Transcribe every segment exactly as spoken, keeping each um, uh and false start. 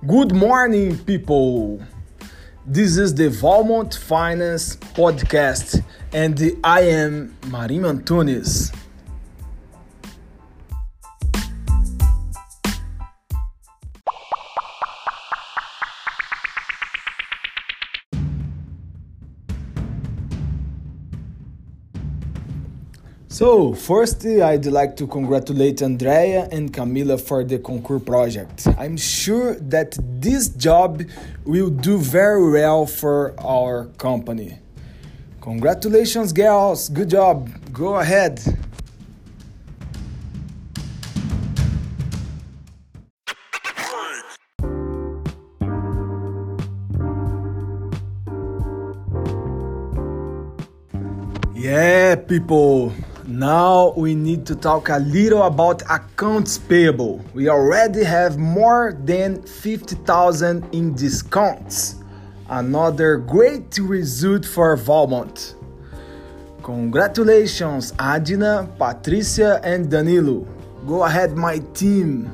Good morning, people. This is the Valmont Finance Podcast, and I am Marinho Antunes. So, first, I'd like to congratulate Andrea and Camila for the Concours project. I'm sure that this job will do very well for our company. Congratulations, girls. Good job. Go ahead. Yeah, people. Now we need to talk a little about accounts payable. We already have more than fifty thousand in discounts. Another great result for Valmont. Congratulations, Adina, Patricia, and Danilo. Go ahead, my team.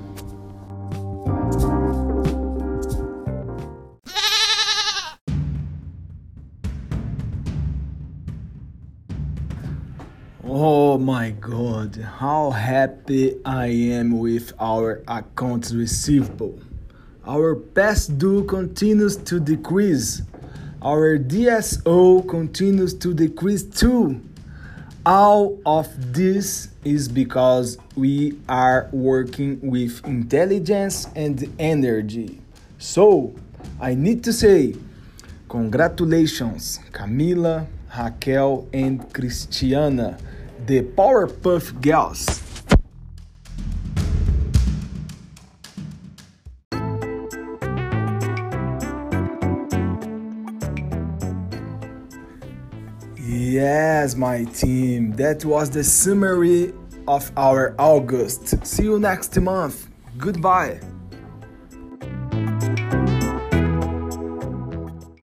Oh my God, how happy I am with our accounts receivable. Our past due continues to decrease. Our D S O continues to decrease too. All of this is because we are working with intelligence and energy. So, I need to say, congratulations, Camila, Raquel, and Cristiana, the Powerpuff Girls. Yes, my team, that was the summary of our August. See you next month. Goodbye.